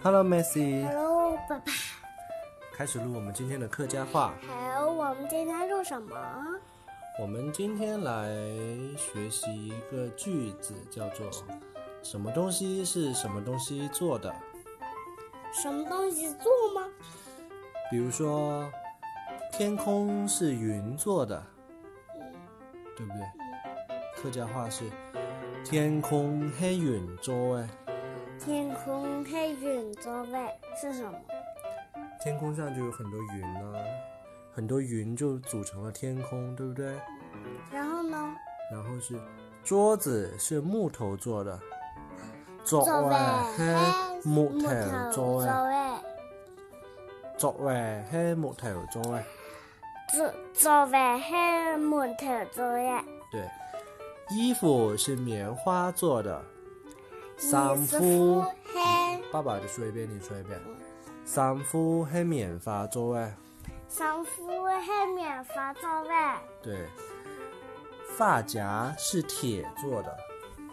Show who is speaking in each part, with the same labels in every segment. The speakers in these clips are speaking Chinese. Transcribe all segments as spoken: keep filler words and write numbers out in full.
Speaker 1: Hello Messi。
Speaker 2: Hello 爸爸。
Speaker 1: 开始录我们今天的客家话。
Speaker 2: 好，我们今天录什么？
Speaker 1: 我们今天来学习一个句子，叫做什么东西是什么东西做的？
Speaker 2: 什么东西做吗？
Speaker 1: 比如说，天空是云做的，
Speaker 2: 嗯、
Speaker 1: 对不对？嗯、客家话是天空是云做的。
Speaker 2: 天空是云做的是什么？
Speaker 1: 天空上就有很多云啊，很多云就组成了天空，对不对？
Speaker 2: 然后呢？
Speaker 1: 然后是桌子是木头做的，座位是木头做的，座位是木頭做嘅，
Speaker 2: 座座位是木頭做嘅。
Speaker 1: 對，衣服是棉花做的，衫
Speaker 2: 褲
Speaker 1: 是，爸爸就說一遍，你說一遍。衫褲是棉花做嘅，
Speaker 2: 衫褲是棉花做嘅。
Speaker 1: 對，髮夾是鐵做的，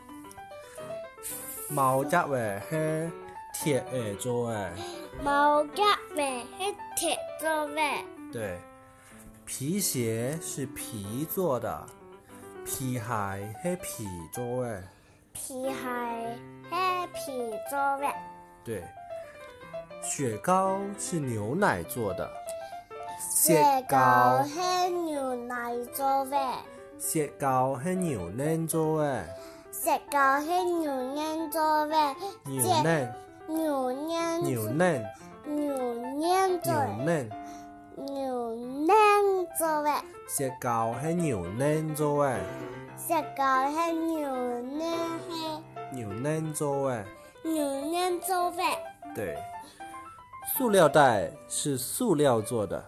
Speaker 1: 毛夾位是鐵嘅做嘅。
Speaker 2: 毛夾尾是鐵做嘅。
Speaker 1: 對，皮鞋是皮做的，皮鞋是皮做嘅。
Speaker 2: 皮鞋是皮做嘅。
Speaker 1: 對，雪糕是牛奶做的，
Speaker 2: 雪糕是牛奶做嘅。
Speaker 1: 雪糕是牛奶做嘅。
Speaker 2: 雪糕是牛奶做嘅。
Speaker 1: 牛奶。
Speaker 2: 牛奶，
Speaker 1: 牛奶，
Speaker 2: 牛奶做
Speaker 1: 牛奶，
Speaker 2: 牛奶做嘅。
Speaker 1: 雪糕係牛奶做嘅。
Speaker 2: 雪糕係牛奶係
Speaker 1: 牛奶做嘅。
Speaker 2: 牛奶做嘅。
Speaker 1: 對，塑料袋是塑料做的。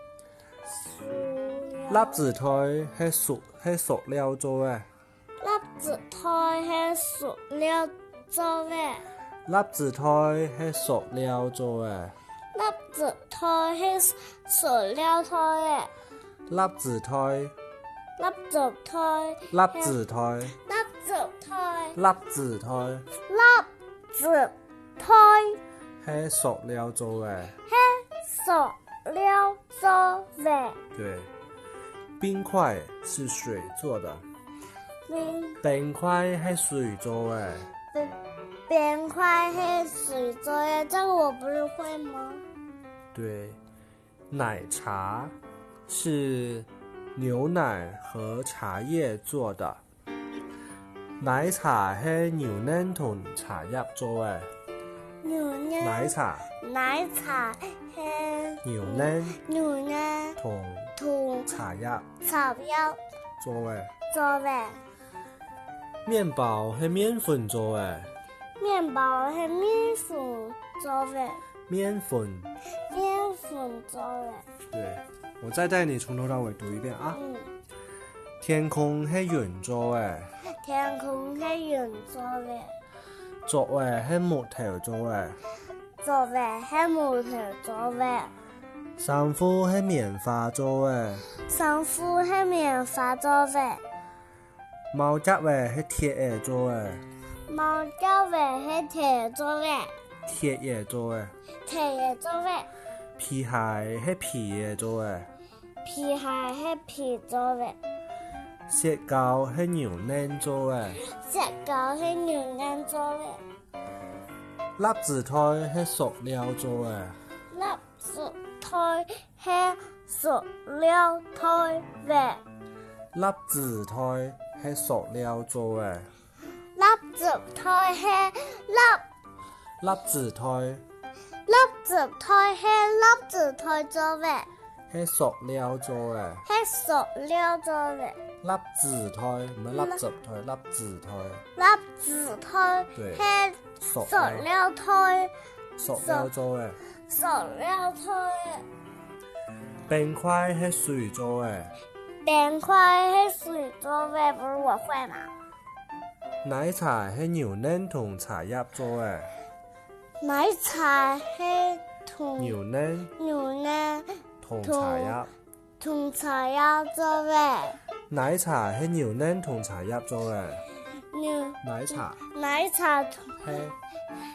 Speaker 1: 粒子台係塑係塑料做嘅。
Speaker 2: 粒子台係塑料做嘅。
Speaker 1: 粒子台係塑料做嘅。
Speaker 2: 粒子台係塑料台嘅。
Speaker 1: 粒子台。
Speaker 2: 粒子台。
Speaker 1: 粒子台。
Speaker 2: 粒子台。
Speaker 1: 粒子台。
Speaker 2: 粒子台
Speaker 1: 係塑料做嘅。
Speaker 2: 係塑料做嘅。
Speaker 1: 對，冰塊是水做的。
Speaker 2: 冰
Speaker 1: 冰塊係水做嘅。
Speaker 2: 冰塊是水做的，這個我不是會嗎？
Speaker 1: 對，奶茶是牛奶和茶葉做的。奶茶係牛奶同茶葉做嘅。
Speaker 2: 牛奶。
Speaker 1: 奶茶。
Speaker 2: 奶茶係
Speaker 1: 牛奶。
Speaker 2: 牛奶
Speaker 1: 同
Speaker 2: 同
Speaker 1: 茶葉。
Speaker 2: 茶葉
Speaker 1: 做嘅。
Speaker 2: 做嘅。
Speaker 1: 麵包係麵粉做嘅。
Speaker 2: 麵包係麵粉做嘅。
Speaker 1: 麵粉。
Speaker 2: 麵粉做嘅。
Speaker 1: 對，我再帶你從頭到尾讀一遍啊。
Speaker 2: 嗯。
Speaker 1: 天空係雲做嘅。
Speaker 2: 天空係雲做嘅。
Speaker 1: 座位係木頭做嘅。
Speaker 2: 座位係木頭做嘅。
Speaker 1: 衫褲係棉花做嘅。
Speaker 2: 衫褲係棉花做嘅。
Speaker 1: 毛夾位係鐵嘢做嘅。
Speaker 2: 毛夾尾係鐵做嘅。
Speaker 1: 鐵嘢做嘅。
Speaker 2: 鐵嘢做嘅。
Speaker 1: 皮鞋係皮嘢做嘅。
Speaker 2: 皮鞋係皮做嘅。
Speaker 1: 雪糕係牛奶做嘅。
Speaker 2: 雪糕係牛奶做嘅。
Speaker 1: 粒子台係塑料做嘅。
Speaker 2: 粒子台係塑料台嘅。
Speaker 1: 粒子台係塑料做嘅。
Speaker 2: 粒子台係粒
Speaker 1: 粒子台。
Speaker 2: 粒子台係粒子台做嘅。
Speaker 1: 係塑料做嘅。
Speaker 2: 係塑料做嘅。
Speaker 1: 粒子台唔係粒子台，粒子台。
Speaker 2: 粒子台係塑料台。
Speaker 1: 塑料做嘅。
Speaker 2: 塑料台。
Speaker 1: 冰塊係水做嘅。
Speaker 2: 冰塊係水做嘅，不是我會嗎？
Speaker 1: 奶茶係牛奶同茶葉做嘅。
Speaker 2: 奶茶係同
Speaker 1: 牛奶
Speaker 2: 牛奶
Speaker 1: 同茶葉
Speaker 2: 同茶葉做嘅。
Speaker 1: 奶茶係牛奶同茶葉做嘅。
Speaker 2: 牛
Speaker 1: 奶茶
Speaker 2: 奶茶同
Speaker 1: 係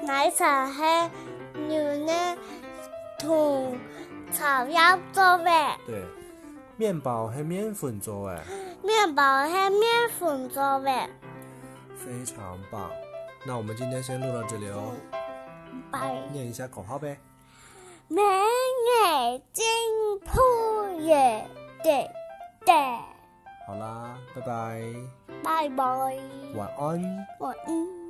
Speaker 2: 奶茶係牛奶同茶葉做嘅。
Speaker 1: 对，面包是面粉做的。
Speaker 2: 面包係面粉做嘅。
Speaker 1: 非常棒。那我们今天先录到这里哦。
Speaker 2: 拜。
Speaker 1: 念一下口号呗。
Speaker 2: 明日金鋪夜的的。
Speaker 1: 好啦，拜拜。
Speaker 2: 拜拜。
Speaker 1: 晚安。
Speaker 2: 晚安。